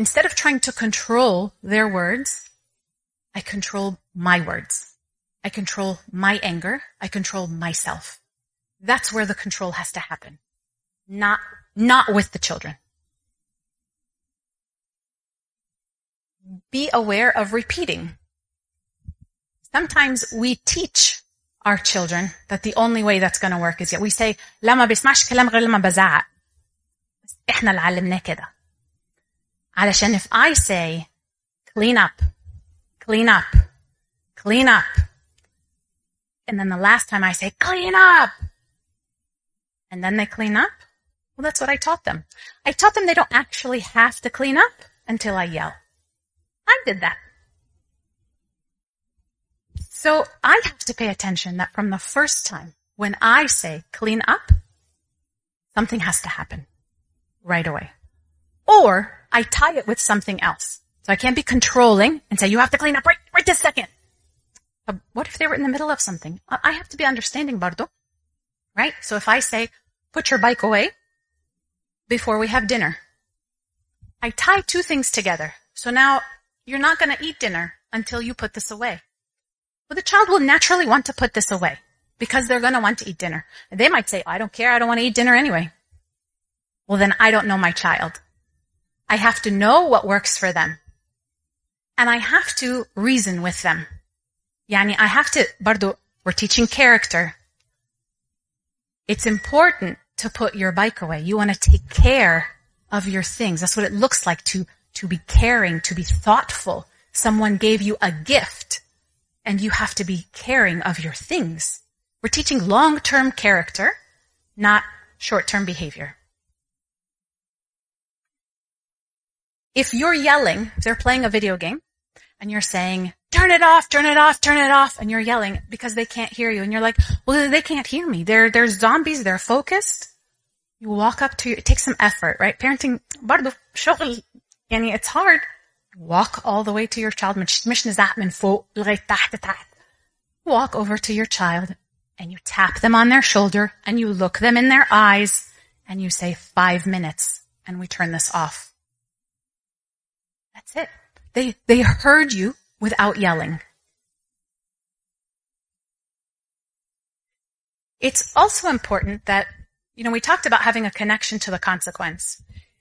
instead of trying to control their words, I control my words. I control my anger. I control myself. That's where the control has to happen. Not with the children. Be aware of repeating. Sometimes we teach our children that the only way that's going to work is we say لا ما بيسمعش كلام غير لما بزعق. احنا اللي علمناه كده. علشان if I say clean up, clean up, clean up, and then the last time I say clean up, and then they clean up, well, that's what I taught them. I taught them they don't actually have to clean up until I yell. I did that. So I have to pay attention that from the first time when I say clean up, something has to happen right away. Or I tie it with something else. So I can't be controlling and say, you have to clean up right this second. But what if they were in the middle of something? I have to be understanding, Bardo. Right? So if I say, put your bike away before we have dinner, I tie two things together. So now you're not going to eat dinner until you put this away. Well, the child will naturally want to put this away because they're going to want to eat dinner. They might say, I don't care. I don't want to eat dinner anyway. Well, then I don't know my child. I have to know what works for them. And I have to reason with them. Yani, I have to, Bardo, we're teaching character. It's important to put your bike away. You want to take care of your things. That's what it looks like to be caring, to be thoughtful. Someone gave you a gift and you have to be caring of your things. We're teaching long-term character, not short-term behavior. If you're yelling, if they're playing a video game and you're saying, turn it off, turn it off, turn it off, and you're yelling because they can't hear you and you're like, well, they can't hear me. They're zombies. They're focused. You walk up to, it takes some effort, right? Parenting, برضو شغل, يعني it's hard. Walk all the way to your child. مش نزعق من فوق لغاية تحت. Walk over to your child and you tap them on their shoulder and you look them in their eyes and you say 5 minutes and we turn this off. That's it. They heard you without yelling. It's also important that, we talked about having a connection to the consequence.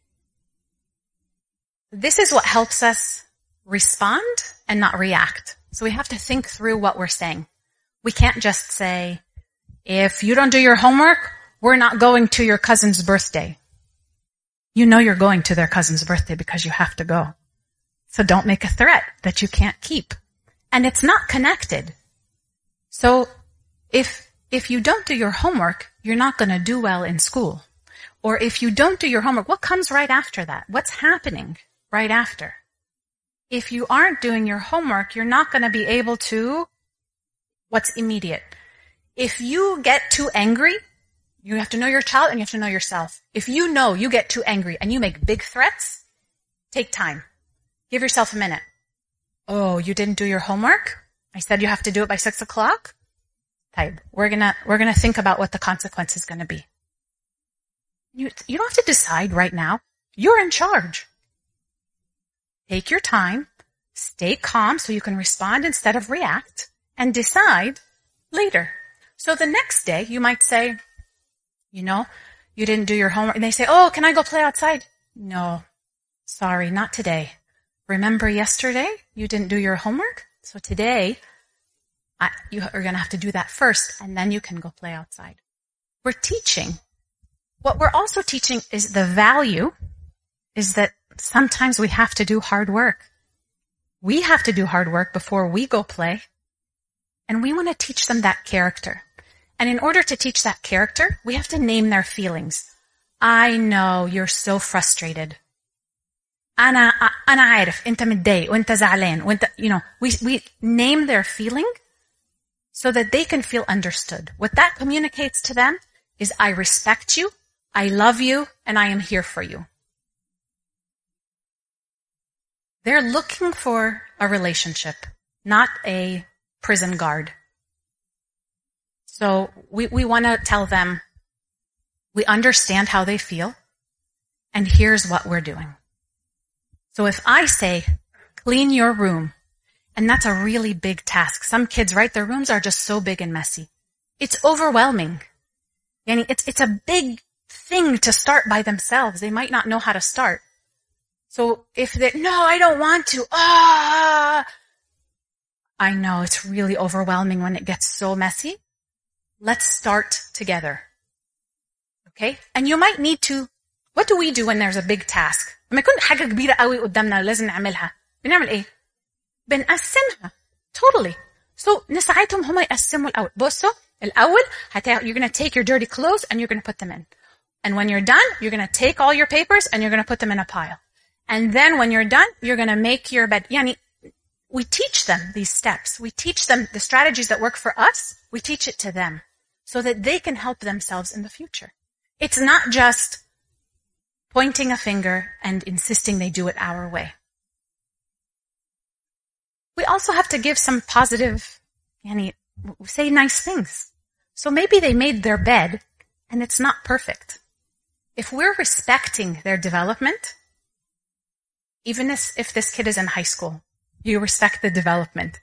This is what helps us respond and not react. So we have to think through what we're saying. We can't just say, if you don't do your homework, we're not going to your cousin's birthday. You know you're going to their cousin's birthday because you have to go. So don't make a threat that you can't keep. And it's not connected. So if you don't do your homework, you're not going to do well in school. Or if you don't do your homework, what comes right after that? What's happening right after? If you aren't doing your homework, you're not going to be able to, what's immediate? If you get too angry, you have to know your child and you have to know yourself. If you know you get too angry and you make big threats, take time. Give yourself a minute. Oh, you didn't do your homework? I said you have to do it by 6 o'clock? Taib, we're gonna think about what the consequence is gonna be. You don't have to decide right now. You're in charge. Take your time, stay calm so you can respond instead of react, and decide later. So the next day you might say, you didn't do your homework. And they say, oh, can I go play outside? No, sorry, not today. Remember yesterday you didn't do your homework? So today you are going to have to do that first and then you can go play outside. We're teaching. What we're also teaching is the value is that sometimes we have to do hard work. We have to do hard work before we go play. And we want to teach them that character. And in order to teach that character, we have to name their feelings. I know you're so frustrated. أنا عارف أنت متضايق وأنت زعلان وأنت we name their feeling so that they can feel understood. What that communicates to them is I respect you, I love you, and I am here for you. They're looking for a relationship, not a prison guard. So we want to tell them we understand how they feel and here's what we're doing. So if I say, clean your room, and that's a really big task. Some kids, right, their rooms are just so big and messy. It's overwhelming. Yani it's a big thing to start by themselves. They might not know how to start. So if they, no, I don't want to. I know it's really overwhelming when it gets so messy. Let's start together. Okay? And you might need to, what do we do when there's a big task? لما يكون حاجة كبيرة قوي قدامنا لازم نعملها. بنعمل ايه؟ بنقسمها. Totally. So نساعدهم هما يقسموا الأول. بصوا الأول you're going to take your dirty clothes and you're going to put them in. And when you're done, you're going to take all your papers and you're going to put them in a pile. And then when you're done, you're going to make your bed. Yani, we teach them these steps. We teach them the strategies that work for us. We teach it to them so that they can help themselves in the future. It's not just pointing a finger and insisting they do it our way. We also have to give some positive, say nice things. So maybe they made their bed and it's not perfect. If we're respecting their development, even if this kid is in high school, you respect the development.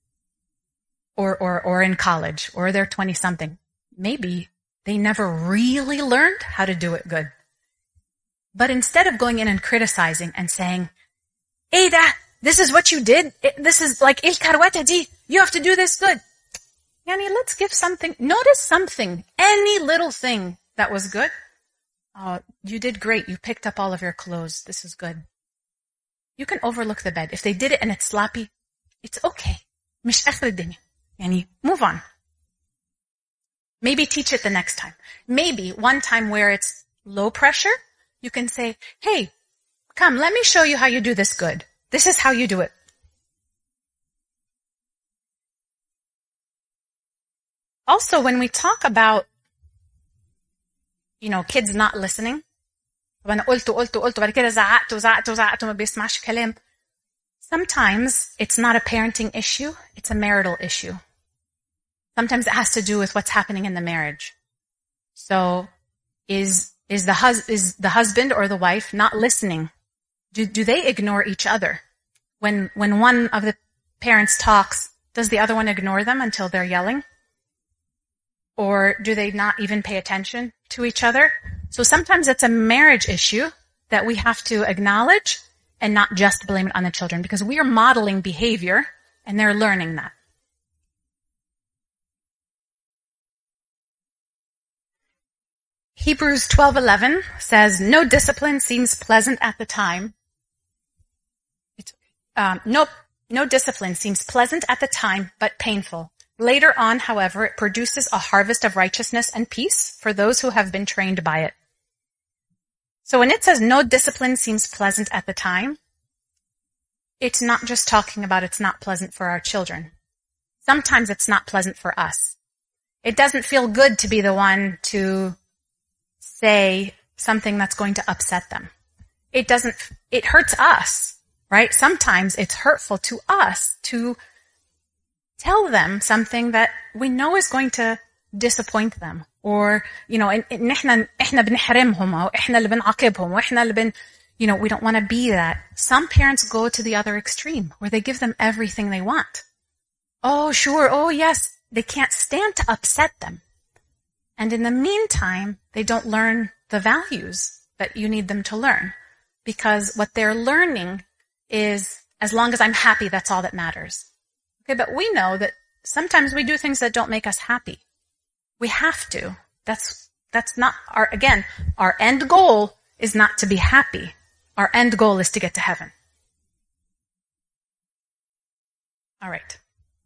Or in college, or they're 20-something. Maybe they never really learned how to do it good. But instead of going in and criticizing and saying, Ada, this is what you did. This is like, il karwata di. You have to do this good. Yani, let's give something, notice something, any little thing that was good. Oh, you did great. You picked up all of your clothes. This is good. You can overlook the bed. If they did it and it's sloppy, it's okay. مش آخر الدنيا. Yani, move on. Maybe teach it the next time. Maybe one time where it's low pressure, you can say, hey, come, let me show you how you do this good. This is how you do it. Also, when we talk about, kids not listening, وانا قلت بعد كده زعقت وما بيسمعش كلام. Sometimes it's not a parenting issue, it's a marital issue. Sometimes it has to do with what's happening in the marriage. So is the husband or the wife not listening? Do they ignore each other? When one of the parents talks, does the other one ignore them until they're yelling? Or do they not even pay attention to each other? So sometimes it's a marriage issue that we have to acknowledge and not just blame it on the children, because we are modeling behavior and they're learning that. Hebrews 12:11 says, no discipline seems pleasant at the time. No discipline seems pleasant at the time, but painful. Later on, however, it produces a harvest of righteousness and peace for those who have been trained by it. So when it says no discipline seems pleasant at the time, it's not just talking about it's not pleasant for our children. Sometimes it's not pleasant for us. It doesn't feel good to be the one to say something that's going to upset them. It hurts us, right? Sometimes it's hurtful to us to tell them something that we know is going to disappoint them. Or, إحنا بنحرمهم أو إحنا اللي بنعاقبهم وإحنا اللي we don't want to be that. Some parents go to the other extreme where they give them everything they want. Oh, sure. Oh, yes. They can't stand to upset them. And in the meantime, they don't learn the values that you need them to learn. Because what they're learning is, as long as I'm happy, that's all that matters. Okay, but we know that sometimes we do things that don't make us happy. We have to. That's not our end goal is not to be happy. Our end goal is to get to heaven. All right.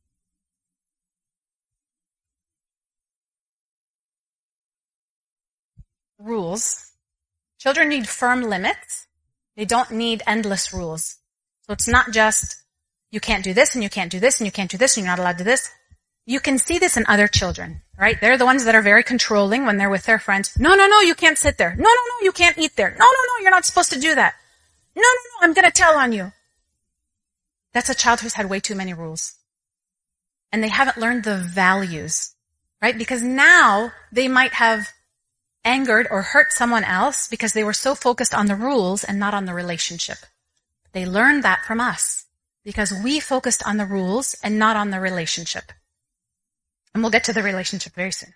Rules. Children need firm limits. They don't need endless rules. So it's not just, you can't do this and you can't do this and you can't do this and you're not allowed to do this. You can see this in other children, right? They're the ones that are very controlling when they're with their friends. No, you can't sit there. No, you can't eat there. No, you're not supposed to do that. No, I'm going to tell on you. That's a child who's had way too many rules. And they haven't learned the values, right? Because now they might have angered or hurt someone else because they were so focused on the rules and not on the relationship. They learned that from us because we focused on the rules and not on the relationship. And we'll get to the relationship very soon.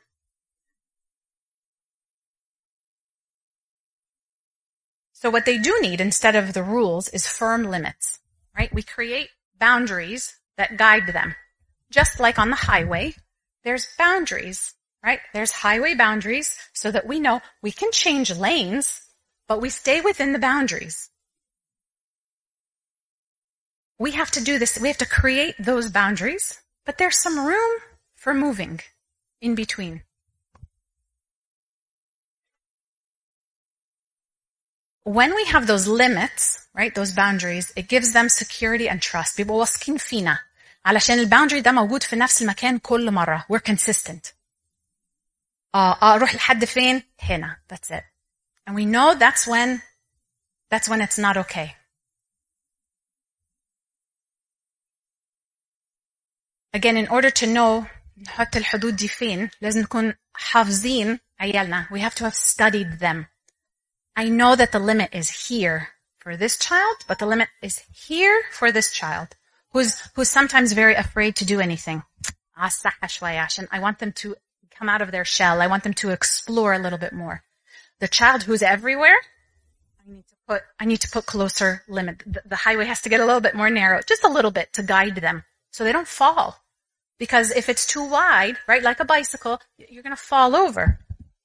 So what they do need instead of the rules is firm limits, right? We create boundaries that guide them. Just like on the highway, there's boundaries, right? There's highway boundaries so that we know we can change lanes, but we stay within the boundaries. We have to do this. We have to create those boundaries, but there's some room for moving in between. When we have those limits, right, those boundaries, it gives them security and trust. بيبقوا واثقين فينا. علشان الباوندري ده موجود في نفس المكان كل مرة. We're consistent. أروح لحد فين؟ هنا. That's it. And we know that's when it's not okay. Again, in order to know نحط الحدود دي فين, لازم نكون حافظين عيالنا. We have to have studied them. I know that the limit is here for this child, but the limit is here for this child, who's sometimes very afraid to do anything. I want them to come out of their shell. I want them to explore a little bit more. The child who's everywhere, I need to put closer limit. The highway has to get a little bit more narrow, just a little bit to guide them so they don't fall. Because if it's too wide, right, like a bicycle, you're going to fall over.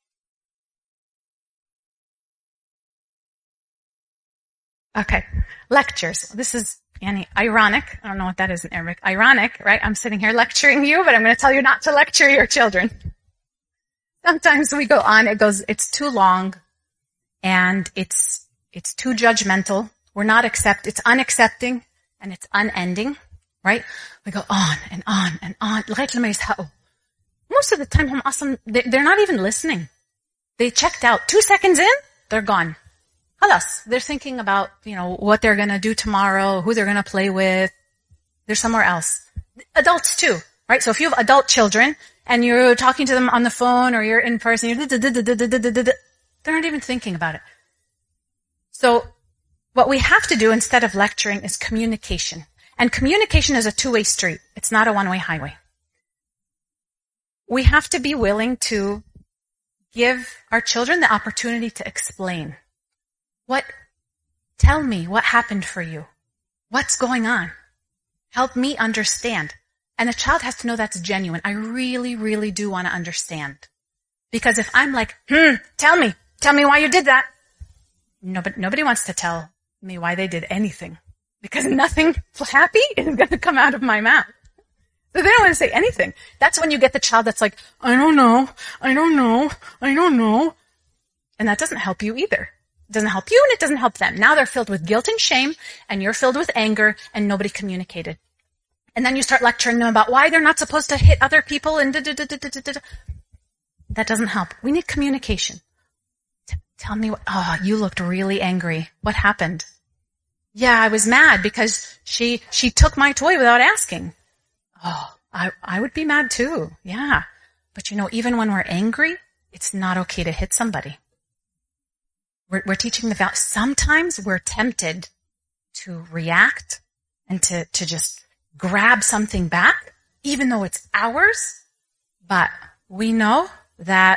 Okay, lectures. This is ironic. I don't know what that is in Arabic. Ironic, right? I'm sitting here lecturing you, but I'm going to tell you not to lecture your children. Sometimes we go on, it's too long, and it's too judgmental. It's unaccepting, and it's unending, right? We go on and on and on. لغاية لما يزهقوا. Most of the time, they're not even listening. They checked out. 2 seconds in, they're gone. خلاص. They're thinking about, what they're going to do tomorrow, who they're going to play with. They're somewhere else. Adults too, right? So if you have adult children and you're talking to them on the phone or you're in person, they're not even thinking about it. So what we have to do instead of lecturing is communication. And communication is a two-way street. It's not a one-way highway. We have to be willing to give our children the opportunity to explain. Tell me what happened for you. What's going on? Help me understand. And the child has to know that's genuine. I really, really do want to understand. Because if I'm like, tell me why you did that. Nobody wants to tell me why they did anything. Because nothing happy is going to come out of my mouth. So they don't want to say anything. That's when you get the child that's like, I don't know. And that doesn't help you either. It doesn't help you and it doesn't help them. Now they're filled with guilt and shame and you're filled with anger and nobody communicated. And then you start lecturing them about why they're not supposed to hit other people and That doesn't help. We need communication. Tell me you looked really angry. What happened? Yeah, I was mad because she took my toy without asking. I would be mad too. Yeah. But even when we're angry, it's not okay to hit somebody. We're teaching the value. Sometimes we're tempted to react and to just grab something back, even though it's ours. But we know that,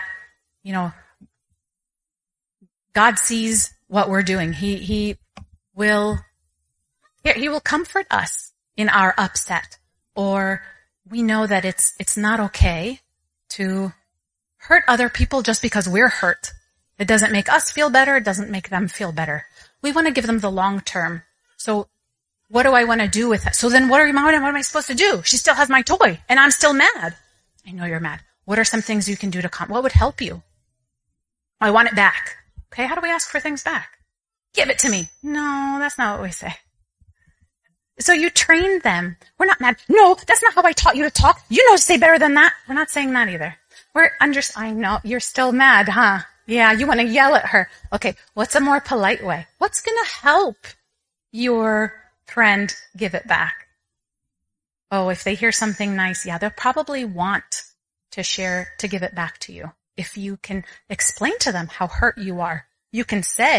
God sees what we're doing. He will comfort us in our upset. Or we know that it's not okay to hurt other people just because we're hurt. It doesn't make us feel better. It doesn't make them feel better. We want to give them the long term. So what do I want to do with it? So then what am I supposed to do? She still has my toy and I'm still mad. I know you're mad. What are some things you can do what would help you? I want it back. Okay. How do we ask for things back? Give it to me. No, that's not what we say. So you train them. We're not mad. No, that's not how I taught you to talk. You know to say better than that. We're not saying that either. I know you're still mad, huh? Yeah, you want to yell at her. Okay, what's a more polite way? What's going to help your friend give it back? Oh, if they hear something nice, yeah, they'll probably want to give it back to you. If you can explain to them how hurt you are, you can say,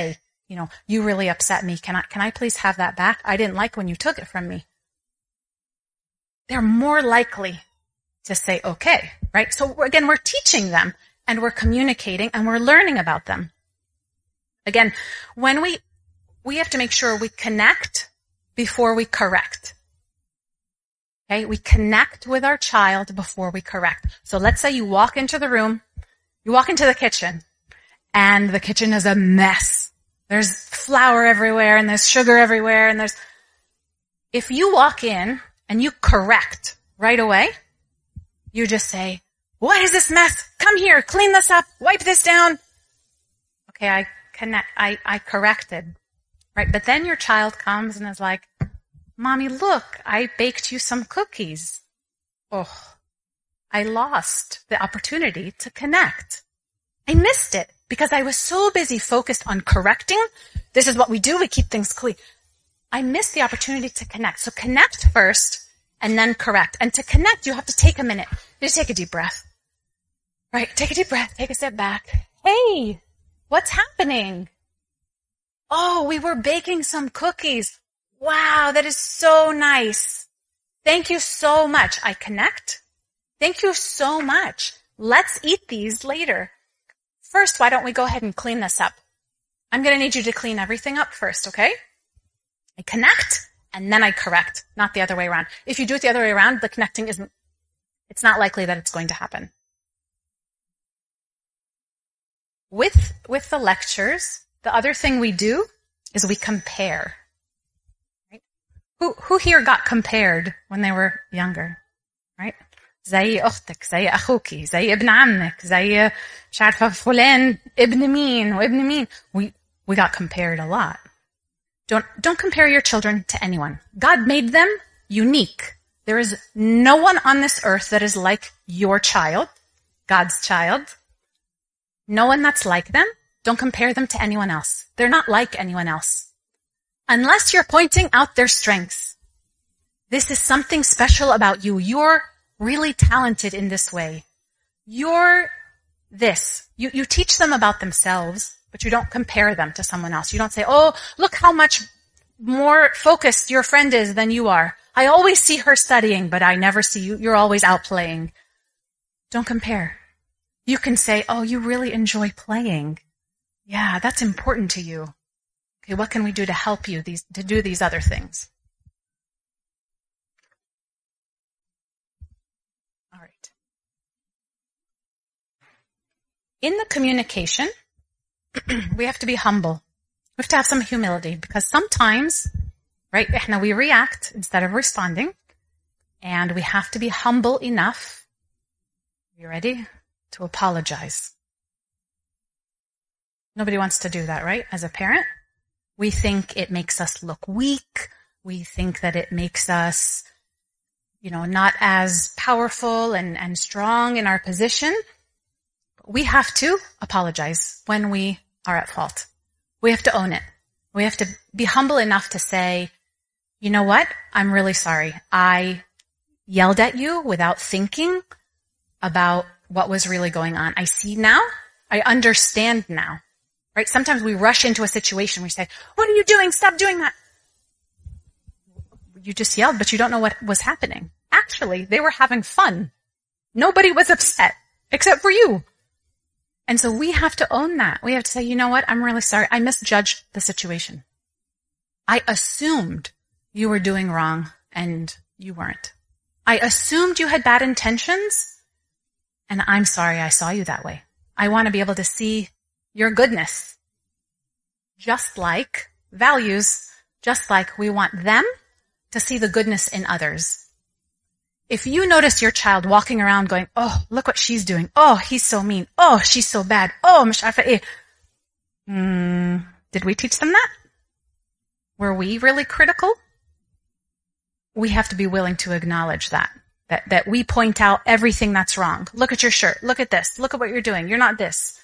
you really upset me. Can I please have that back? I didn't like when you took it from me. They're more likely to say, okay, right? So again, we're teaching them and we're communicating and we're learning about them. Again, when we have to make sure we connect before we correct. Okay? We connect with our child before we correct. So let's say you walk into the room, you walk into the kitchen, and the kitchen is a mess. There's flour everywhere and there's sugar everywhere and if you walk in and you correct right away, you just say, what is this mess? Come here, clean this up, wipe this down. Okay, I corrected, right? But then your child comes and is like, Mommy, look, I baked you some cookies. Oh, I lost the opportunity to connect. I missed it because I was so busy focused on correcting. This is what we do. We keep things clean. I missed the opportunity to connect. So connect first and then correct. And to connect, you have to take a minute. You just take a deep breath. Right? Take a deep breath. Take a step back. Hey, what's happening? Oh, we were baking some cookies. Wow, that is so nice. Thank you so much. I connect. Thank you so much. Let's eat these later. First, why don't we go ahead and clean this up? I'm going to need you to clean everything up first, okay? I connect, and then I correct, not the other way around. If you do it the other way around, the connecting it's not likely that it's going to happen. With the lectures, the other thing we do is we compare. Right? Who here got compared when they were younger? Right? زي أختك, زي أخوكي, زي ابن عمك, زي مش عارفة فلان ابن مين وابن مين. We got compared a lot. Don't compare your children to anyone. God made them unique. There is no one on this earth that is like your child, God's child. No one that's like them. Don't compare them to anyone else. They're not like anyone else. Unless you're pointing out their strengths. This is something special about you. You're really talented in this way. You're this. You teach them about themselves, but you don't compare them to someone else. You don't say, oh, look how much more focused your friend is than you are. I always see her studying, but I never see you. You're always out playing. Don't compare. You can say, oh, you really enjoy playing. Yeah, that's important to you. Okay, what can we do to help you to do these other things? All right. In the communication, we have to be humble. We have to have some humility because sometimes, right, we react instead of responding, and we have to be humble enough. You ready? To apologize. Nobody wants to do that, right? As a parent, we think it makes us look weak. We think that it makes us, not as powerful and strong in our position. We have to apologize when we are at fault. We have to own it. We have to be humble enough to say, you know what? I'm really sorry. I yelled at you without thinking about what was really going on. I see now. I understand now. Right? Sometimes we rush into a situation. We say, what are you doing? Stop doing that. You just yelled, but you don't know what was happening. Actually, they were having fun. Nobody was upset except for you. And so we have to own that. We have to say, you know what? I'm really sorry. I misjudged the situation. I assumed you were doing wrong and you weren't. I assumed you had bad intentions and I'm sorry I saw you that way. I want to be able to see your goodness. Just like values, just like we want them to see the goodness in others. If you notice your child walking around going, oh, look what she's doing. Oh, he's so mean. Oh, she's so bad. Oh, مش عارفة إيه. Did we teach them that? Were we really critical? We have to be willing to acknowledge that we point out everything that's wrong. Look at your shirt. Look at this. Look at what you're doing. You're not this.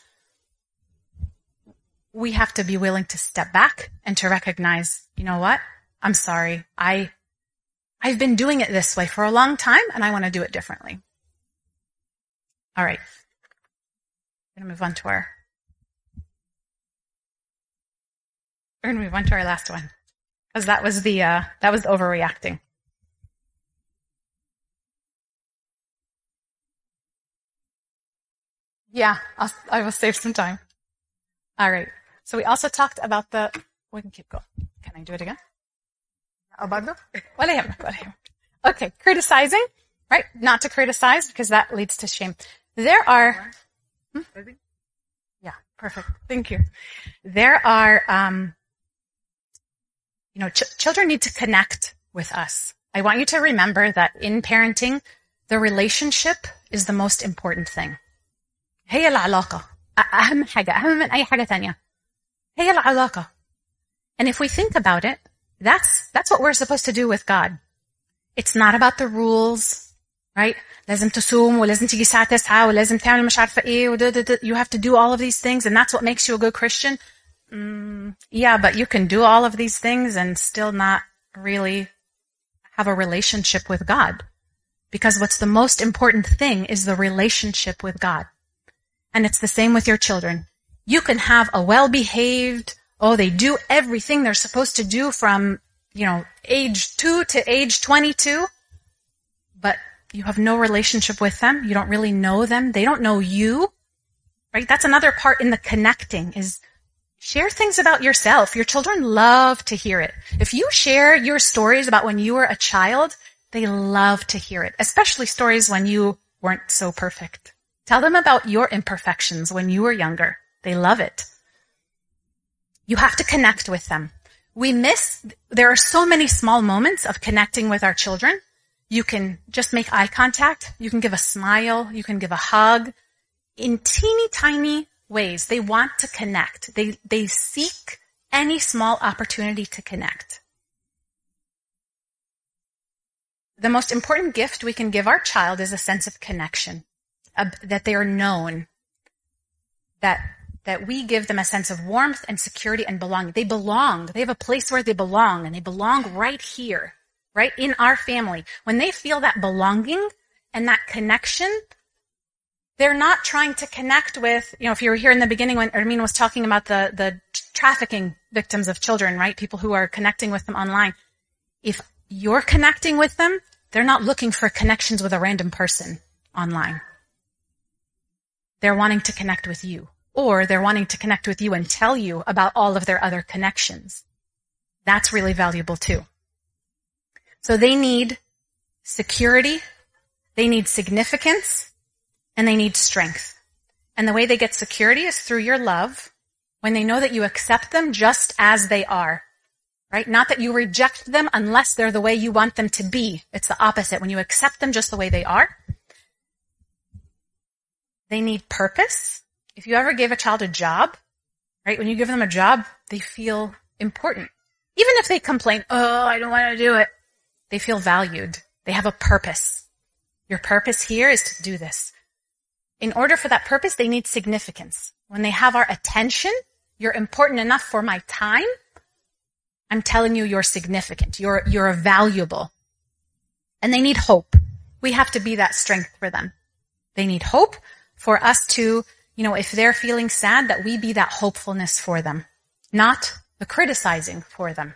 We have to be willing to step back and to recognize, you know what? I'm sorry. I've been doing it this way for a long time and I want to do it differently. All right. I'm going to move on to our We're going to move on to our last one. Because that was the overreacting. Yeah, I will save some time. All right. So we also talked about we can keep going. Can I do it again? Okay, criticizing, right? Not to criticize because that leads to shame. There are, yeah, perfect. Thank you. There are, children need to connect with us. I want you to remember that in parenting, the relationship is the most important thing. هي العلاقة. أهم حاجة. أهم من أي حاجة تانية. هي العلاقة. And if we think about it, that's what we're supposed to do with God. It's not about the rules, right? لازم تصوم ولازم تيجي الساعة 9 ولازم تعمل مش عارفة إيه you have to do all of these things and that's what makes you a good Christian. Yeah, but you can do all of these things and still not really have a relationship with God. Because what's the most important thing is the relationship with God. And it's the same with your children. You can have a well-behaved, they do everything they're supposed to do from, age 2 to age 22, but you have no relationship with them. You don't really know them. They don't know you, right? That's another part in the connecting is share things about yourself. Your children love to hear it. If you share your stories about when you were a child, they love to hear it, especially stories when you weren't so perfect. Tell them about your imperfections when you were younger. They love it. You have to connect with them. There are so many small moments of connecting with our children. You can just make eye contact. You can give a smile. You can give a hug. In teeny tiny ways, they want to connect. They seek any small opportunity to connect. The most important gift we can give our child is a sense of connection. That they are known, that we give them a sense of warmth and security and belonging. They belong. They have a place where they belong, and they belong right here, right in our family. When they feel that belonging and that connection, they're not trying to connect with, if you were here in the beginning when Ermin was talking about the trafficking victims of children, right? People who are connecting with them online. If you're connecting with them, they're not looking for connections with a random person online. They're wanting to connect with you, or they're wanting to connect with you and tell you about all of their other connections. That's really valuable too. So they need security, they need significance, and they need strength. And the way they get security is through your love, when they know that you accept them just as they are, right? Not that you reject them unless they're the way you want them to be. It's the opposite. When you accept them just the way they are, they need purpose. If you ever gave a child a job, right? When you give them a job, they feel important. Even if they complain, I don't want to do it. They feel valued. They have a purpose. Your purpose here is to do this. In order for that purpose, they need significance. When they have our attention, you're important enough for my time. I'm telling you, you're significant. You're valuable. And they need hope. We have to be that strength for them. They need hope. For us to, if they're feeling sad, that we be that hopefulness for them, not the criticizing for them.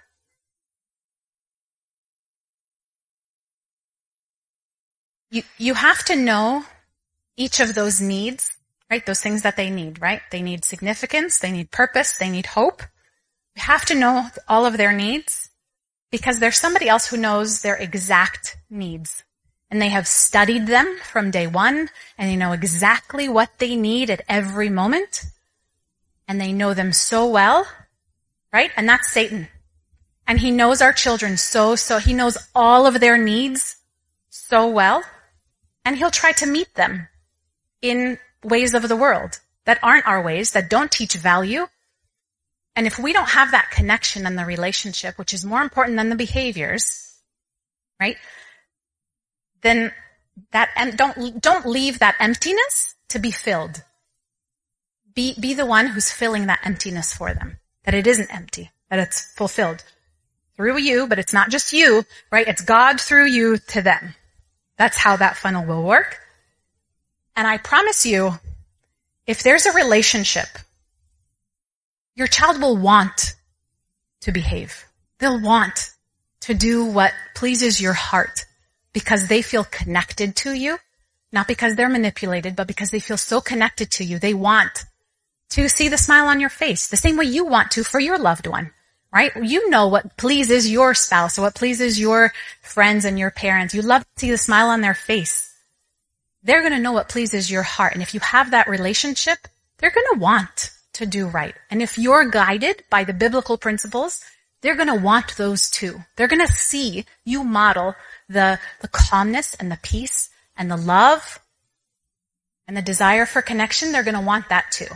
You have to know each of those needs, right? Those things that they need, right? They need significance, they need purpose, they need hope. You have to know all of their needs because there's somebody else who knows their exact needs. And they have studied them from day one, and they know exactly what they need at every moment. And they know them so well, right? And that's Satan. And he knows our children so he knows all of their needs so well. And he'll try to meet them in ways of the world that aren't our ways, that don't teach value. And if we don't have that connection and the relationship, which is more important than the behaviors, right? Then don't leave that emptiness to be filled. Be the one who's filling that emptiness for them. That it isn't empty, that it's fulfilled through you, but it's not just you, right? It's God through you to them. That's how that funnel will work. And I promise you, if there's a relationship, your child will want to behave. They'll want to do what pleases your heart because they feel connected to you, not because they're manipulated, but because they feel so connected to you. They want to see the smile on your face the same way you want to for your loved one, right? You know what pleases your spouse or what pleases your friends and your parents. You love to see the smile on their face. They're going to know what pleases your heart. And if you have that relationship, they're going to want to do right. And if you're guided by the biblical principles, they're going to want those too. They're going to see you model the calmness and the peace and the love and the desire for connection. They're going to want that too.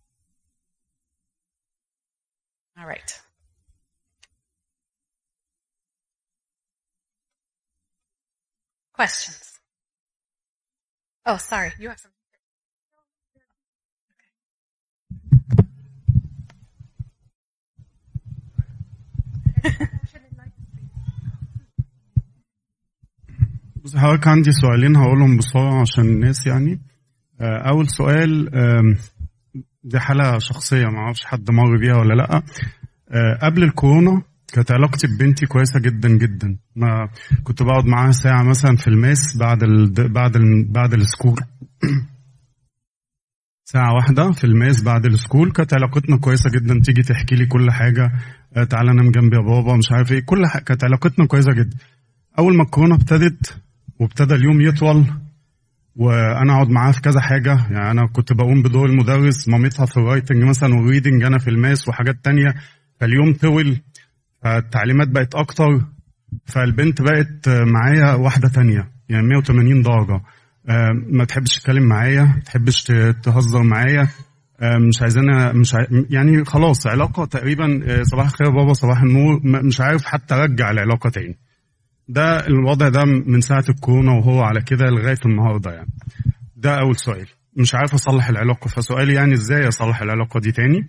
All right. Questions? Oh, sorry. You have some. بص حضرتك عندي سؤالين هقولهم بسرعة عشان الناس يعني. أول سؤال دي حالة شخصية ما اعرفش حد مر بيها ولا لأ. قبل الكورونا كانت علاقتي ببنتي كويسة جدا جدا. ما كنت بقعد معاها ساعة مثلا في الماس بعد السكول ساعة واحدة في الماس بعد السكول. كانت علاقتنا كويسة جدا. تيجي تحكي لي كل حاجة، تعالى نام جنبي يا بابا مش عارف ايه، كل حاجة. كانت علاقتنا كويسة جدا. أول ما الكورونا ابتدت وابتدى اليوم يطول وانا اقعد معاها في كذا حاجه، يعني انا كنت بقوم بدور المدرس، مامتها في الرايتنج مثلا والريدنج، انا في الماس وحاجات تانية، فاليوم طول، فالتعليمات بقت اكتر، فالبنت بقت معايا واحده تانية يعني 180 درجه. ما تحبش تتكلم معايا، ما تحبش تهزر معايا، مش عايزانا، يعني خلاص علاقه تقريبا صباح الخير يا بابا صباح النور، مش عارف حتى ارجع العلاقه تاني. ده الوضع ده من ساعة الكورونا وهو على كده لغاية النهاردة يعني. ده أول سؤال، مش عارف أصلح العلاقة، فسؤالي يعني إزاي أصلح العلاقة دي تاني.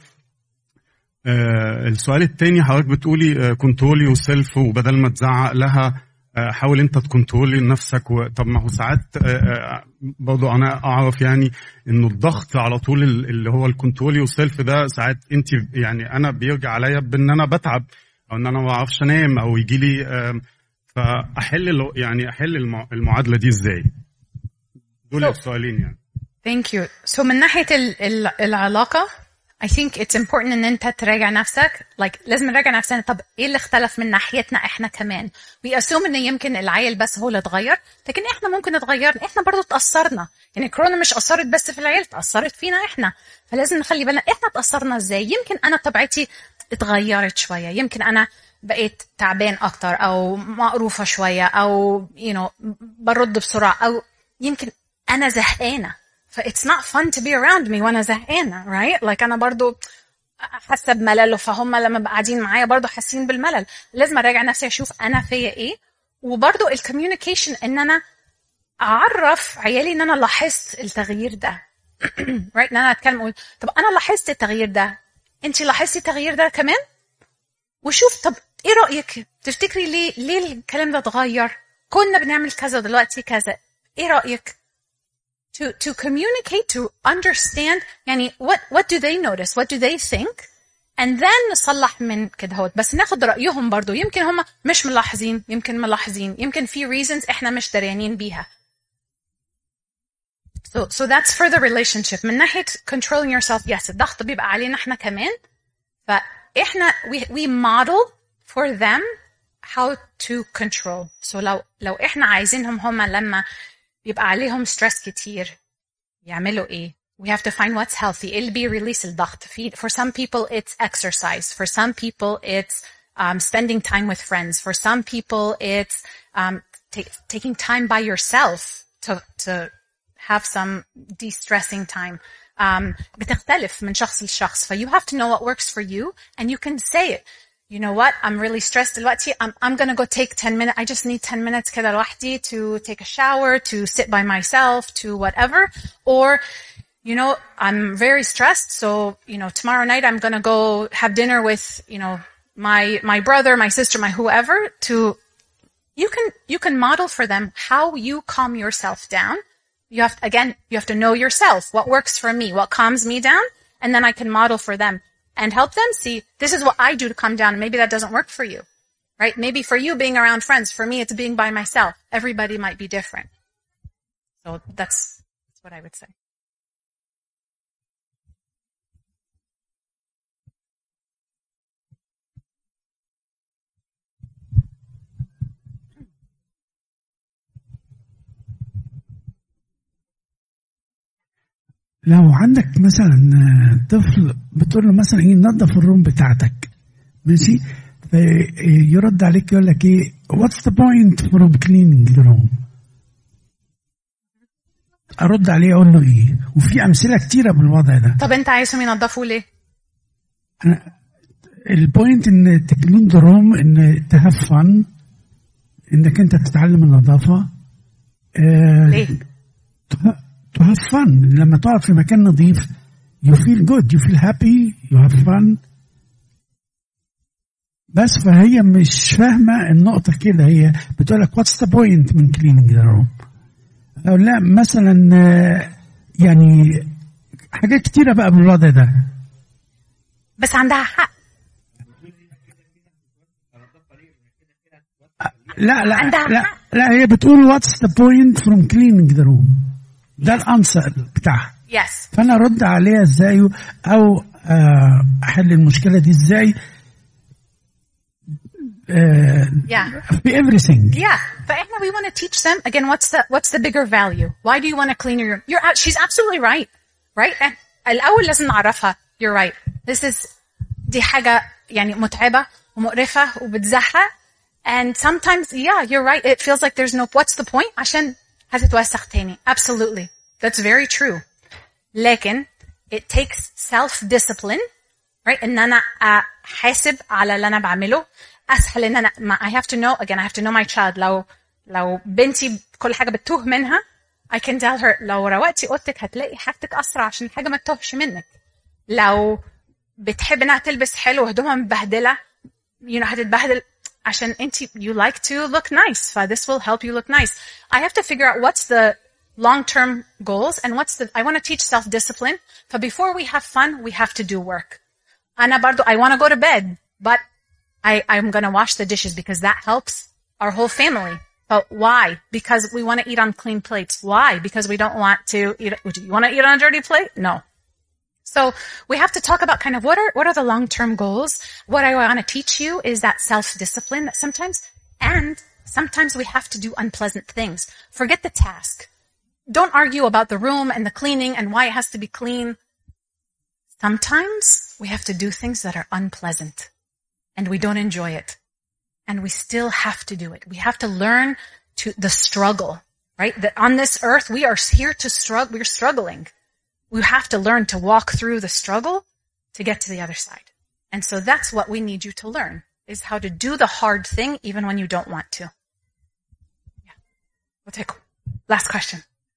السؤال التاني حضرتك بتقولي كنترولي وسيلف، وبدل ما تزعق لها حاول أنت تكنترولي نفسك. طب ما هو ساعات برضو أنا أعرف يعني إنه الضغط على طول اللي هو الكنترولي والسيلف ده ساعات أنت يعني أنا بيرجع عليا بإن أنا بتعب أو إن أنا ما أعرفش أنام أو يجي لي فأحل المعادلة دي ازاي؟ دول السؤالين يعني. Thank you. So من ناحية العلاقة I think it's important ان انت تراجع نفسك. لازم نراجع نفسنا. طب ايه اللي اختلف من ناحيتنا احنا كمان؟ We assume ان يمكن العيل بس هو اللي اتغير، لكن احنا ممكن نتغير. احنا برضو اتأثرنا. يعني كورونا مش أثرت بس في العيل، اتأثرت فينا احنا. فلازم نخلي بالنا احنا اتأثرنا ازاي. يمكن انا طبيعتي اتغيرت شوية، يمكن انا بقيت تعبان اكتر او مقروفة شوية او برد بسرعة، او يمكن انا زهقانة. ف it's not fun to be around me وانا زهقانة right. انا برضو حاسة بملل، فهم لما قاعدين معايا برضو حاسين بالملل. لازم اراجع نفسي اشوف انا فيا ايه. وبرضو الكوميونيكيشن ان انا اعرف عيالي ان انا لاحظت التغيير ده right. ان انا اتكلم اقول طب انا لاحظت التغيير ده، انتي لاحظتي التغيير ده كمان؟ وشوف طب ايه رأيك؟ تفتكري ليه الكلام ده اتغير؟ كنا بنعمل كذا دلوقتي كذا، ايه رأيك؟ To communicate, to understand يعني what do they notice, what do they think, and then نصلح من كده هوت. بس ناخد رأيهم برضو. يمكن هم مش ملاحظين، يمكن ملاحظين، يمكن في reasons احنا مش دريانين بيها. So that's for the relationship. من ناحية controlling yourself, yes الضغط بيبقى علينا احنا كمان. فاحنا we model for them how to control. So لو احنا عايزينهم هم لما بيبقى عليهم stress كتير يعملوا ايه؟ We have to find what's healthy. ايه اللي بيريليس الضغط؟ For some people it's exercise. For some people it's spending time with friends. For some people it's taking time by yourself to have some de-stressing time. بتختلف من شخص لشخص. You have to know what works for you and you can say it. You know what? I'm really stressed دلوقتي. I'm going to go take 10 minutes. I just need 10 minutes كده لوحدي to take a shower, to sit by myself, to whatever. Or, I'm very stressed. So, tomorrow night I'm going to go have dinner with, my brother, my sister, my whoever. You can model for them how you calm yourself down. You have to know yourself. What works for me? What calms me down? And then I can model for them. and help them see this is what I do to calm down. Maybe that doesn't work for you, right? Maybe for you being around friends, for me it's being by myself. Everybody might be different. So that's what I would say. لو عندك مثلا طفل بتقول له مثلا ايه نظف الروم بتاعتك ماشي يرد عليك يقول لك ايه what's the point from cleaning the room ارد عليه اقول له ايه وفي امثله كتيره بالوضع ده. طب انت عايزهم ينظفوا ليه؟ البوينت ان تكلين ذا روم ان تهاف فن انك انت تتعلم النظافه ليه؟ to have fun. لما تقعد في مكان نظيف you feel good, you feel happy, you have fun. بس فهي مش فاهمة النقطة كده. هي بتقولك what's the point من cleaning the room. أو لا مثلا يعني حاجات كتيرة بقى بالوضع ده. بس عندها حق. لا لا هي بتقول what's the point from cleaning the room. ده الانسر بتاعها. Yes. فانا ارد عليها ازاي او احل المشكله دي ازاي في everything. Yeah. فاحنا we want to teach them again what's the bigger value. Why do you want to clean your room? She's absolutely right. Right? الاول لازم نعرفها. You're right. دي حاجه يعني متعبه ومقرفه وبتزهق. And sometimes you're right. It feels like there's no what's the point عشان هتتوسخ تاني. Absolutely. That's very true. لكن it takes self-discipline, right? إن أنا أحاسب على اللي أنا بعمله. أسهل إن أنا I have to know, again, I have to know my child. لو بنتي كل حاجة بتوه منها, I can tell her لو روقتي أوضتك هتلاقي حاجتك أسرع عشان الحاجة ما تتوهش منك. لو بتحب إنها تلبس حلو وهدومها مبهدلة, هتتبهدل عشان you like to look nice. So this will help you look nice. I have to figure out what's the long-term goals and I want to teach self-discipline. But before we have fun, we have to do work. I want to go to bed, but I'm going to wash the dishes because that helps our whole family. But why? Because we want to eat on clean plates. Why? Because we don't want to eat. You want to eat on a dirty plate? No. So we have to talk about kind of what are the long-term goals. What I want to teach you is that self-discipline that sometimes we have to do unpleasant things. Forget the task. Don't argue about the room and the cleaning and why it has to be clean. Sometimes we have to do things that are unpleasant and we don't enjoy it. And we still have to do it. We have to learn the struggle, right? That on this earth, we are here to struggle. We're struggling. We have to learn to walk through the struggle to get to the other side. And so that's what we need you to learn, is how to do the hard thing even when you don't want to. Yeah. We'll take last question.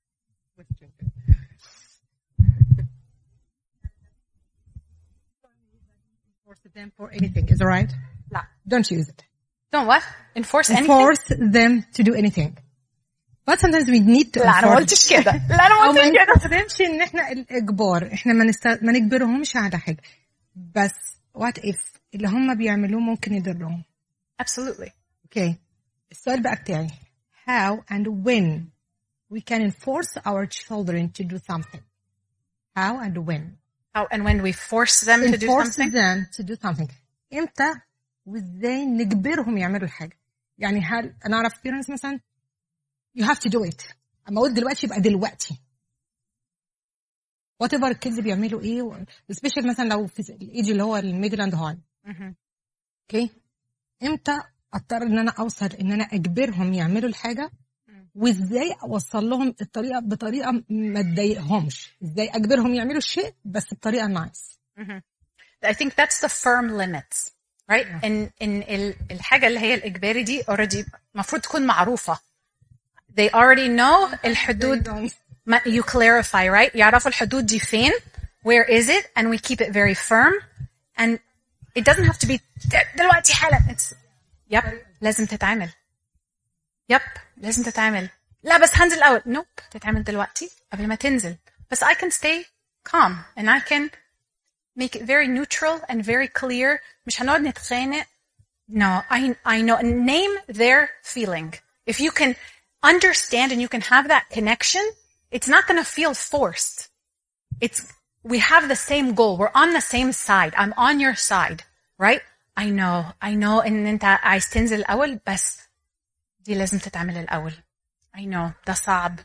Force them for anything, is it right? No. Don't use it. Don't what? Enforce anything? Force them to do anything. But sometimes we need to لا أنا ما قلتش كده. لا أنا ما قلتش كده. ما نستخدمش إن إحنا الإجبار. إحنا ما نجبرهمش على حاجة. بس what if اللي هم بيعملوه ممكن يضرهم. Absolutely. Okay. السؤال بقى بتاعي. How and when we can enforce our children to do something? How and when? How and when we force them to do something? Force them to do something. إمتى وإزاي نجبرهم يعملوا الحاجة؟ يعني هل أنا أعرف parents مثلا you have to do it. أما أقول دلوقتي يبقى دلوقتي. whatever الكيدز بيعملوا إيه especially مثلا لو في الإيج اللي هو الميدل أند هاي. okay. إمتى أضطر إن أنا أوصل إن أنا أجبرهم يعملوا الحاجة وإزاي أوصل لهم الطريقة بطريقة ما تضايقهمش. إزاي أجبرهم يعملوا الشيء بس بطريقة nice. I think that's the firm limits. Right? إن الحاجة اللي هي الإجباري دي already مفروض تكون معروفة. They already know الحدود. You clarify, right? يعرفوا الحدود دي فين. Where is it? And we keep it very firm. And it doesn't have to be دلوقتي حالا. It's لازم تتعمل. لازم تتعمل. لا بس هنزل الأول. Nope. تتعمل دلوقتي قبل ما تنزل. بس I can stay calm and I can make it very neutral and very clear. مش هنقعد نتخانق. No, I know. Name their feeling. If you can understand and you can have that connection, it's not going to feel forced. We have the same goal. We're on the same side. I'm on your side, right? I know ان انت عايز تنزل الاول بس دي لازم تتعمل الاول. I know ده صعب.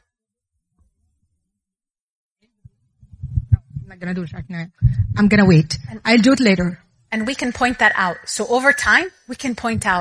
I'm not gonna do it right now. I'm gonna wait. I'll do it later. And we can point that out. So over time, we can point out,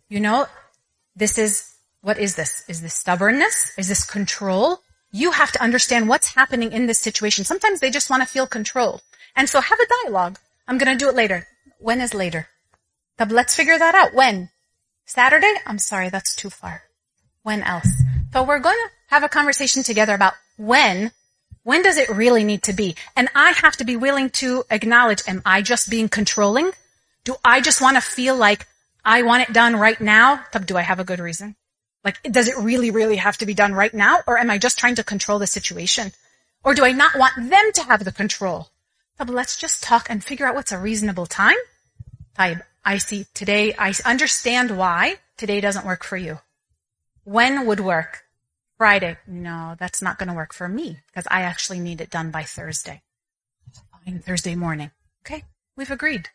what is this? Is this stubbornness? Is this control? You have to understand what's happening in this situation. Sometimes they just want to feel control. And so have a dialogue. I'm going to do it later. When is later? But let's figure that out. When? Saturday? I'm sorry, that's too far. When else? So we're going to have a conversation together about when does it really need to be? And I have to be willing to acknowledge, am I just being controlling? Do I just want to feel like I want it done right now? Do I have a good reason? Like, does it really, really have to be done right now? Or am I just trying to control the situation? Or do I not want them to have the control? But let's just talk and figure out what's a reasonable time. I see today, I understand why today doesn't work for you. When would work? Friday. No, that's not going to work for me because I actually need it done by Thursday. Fine, Thursday morning. Okay, we've agreed.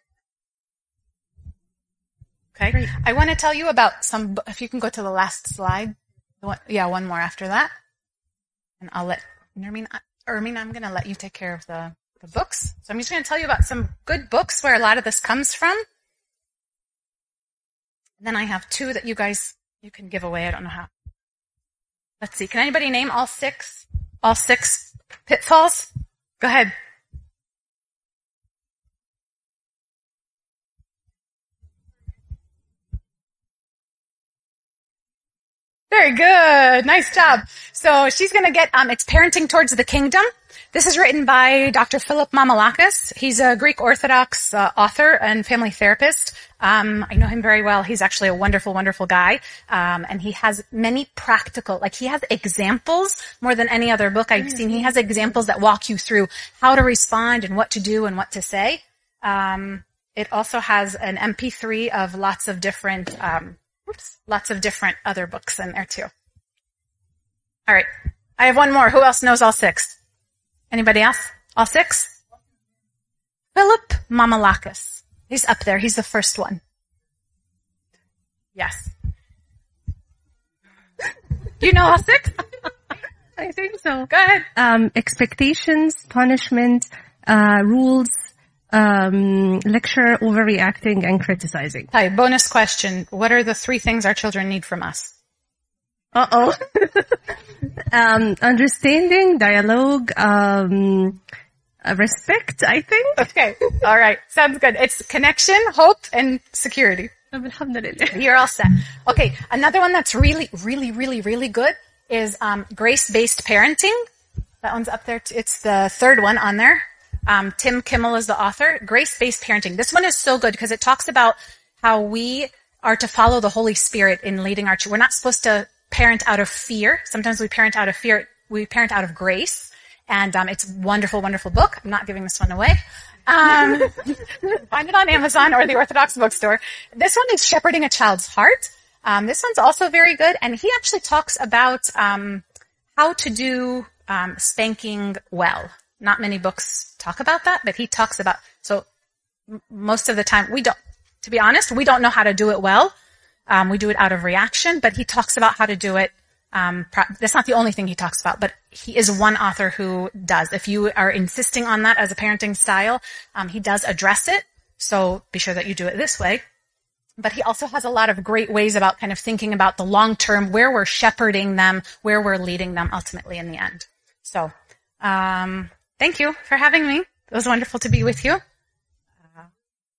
Okay, great. I want to tell you about if you can go to the last slide. One more after that. And I'll let Nermeen, I'm going to let you take care of the books. So I'm just going to tell you about some good books where a lot of this comes from. And then I have 2 that you can give away. I don't know how. Let's see. Can anybody name all 6 pitfalls? Go ahead. Very good. Nice job. So she's going to get, it's Parenting Towards the Kingdom. This is written by Dr. Philip Mamalakis. He's a Greek Orthodox author and family therapist. I know him very well. He's actually a wonderful, wonderful guy. And he has many practical, he has examples more than any other book I've seen. He has examples that walk you through how to respond and what to do and what to say. It also has an MP3 of lots of different other books in there too. All right. I have one more. Who else knows all 6? Anybody else? All 6? Philip Mamalakis. He's up there. He's the first one. Yes. You know all 6? I think so. Go ahead. Expectations, punishment, rules, lecture, overreacting, and criticizing. Hi, bonus question. What are the 3 things our children need from us? Understanding, dialogue, respect, I think. Okay. All right. Sounds good. It's connection, hope, and security. Alhamdulillah. You're all set. Okay. Another one that's really, really, really, really good is grace-based parenting. That one's up there. It's the 3rd one on there. Tim Kimmel is the author. Grace-based parenting. This one is so good because it talks about how we are to follow the Holy Spirit in leading our children. We're not supposed to parent out of fear. Sometimes we parent out of fear. We parent out of grace. And it's a wonderful, wonderful book. I'm not giving this one away. Find it on Amazon or the Orthodox bookstore. This one is Shepherding a Child's Heart. This one's also very good. And he actually talks about how to do spanking well. Not many books talk about that, but he talks about, so most of the time to be honest, we don't know how to do it well. We do it out of reaction, but he talks about how to do it. That's not the only thing he talks about, but he is one author who does. If you are insisting on that as a parenting style, he does address it. So be sure that you do it this way. But he also has a lot of great ways about kind of thinking about the long term, where we're shepherding them, where we're leading them ultimately in the end. So, thank you for having me. It was wonderful to be with you.